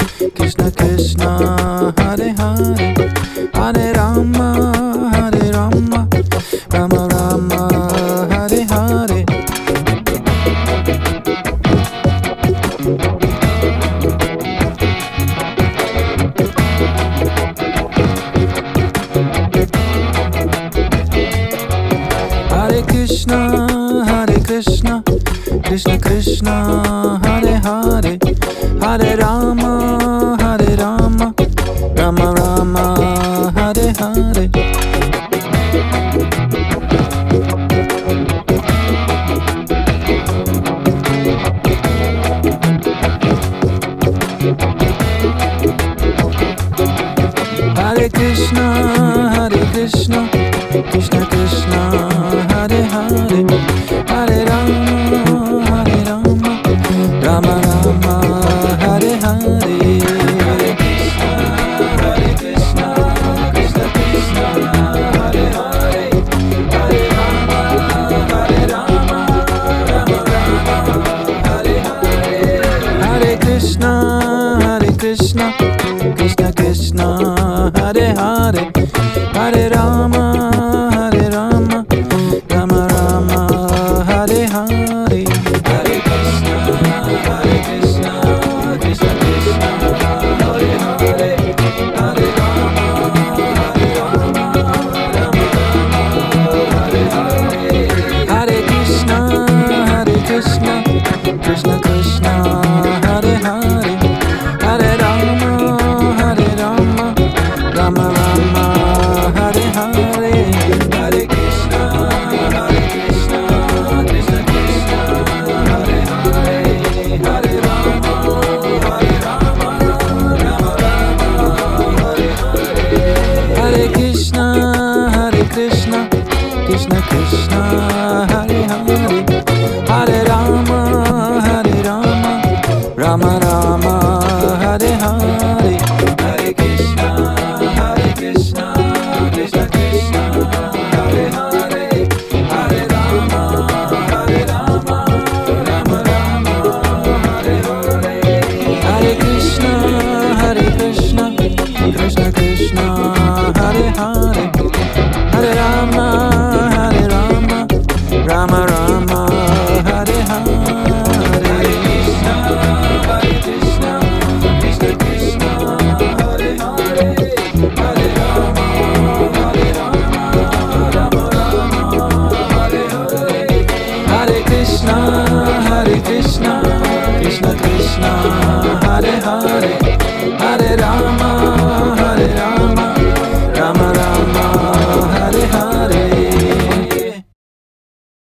Krishna Krishna Hare Hare Hare Rama Hare Rama Rama Rama Hare Hare Hare Krishna Krishna Krishna Hare Hare Hare Rama Rama Rama Hare Hare Hare Krishna Krishna Krishna Hare Hare Hare Rama Rama Rama Hare Hare Hare Krishna Krishna Krishna Hare Hare Hare Rama Rama Rama Hare Hare Hare Krishna Krishna Krishna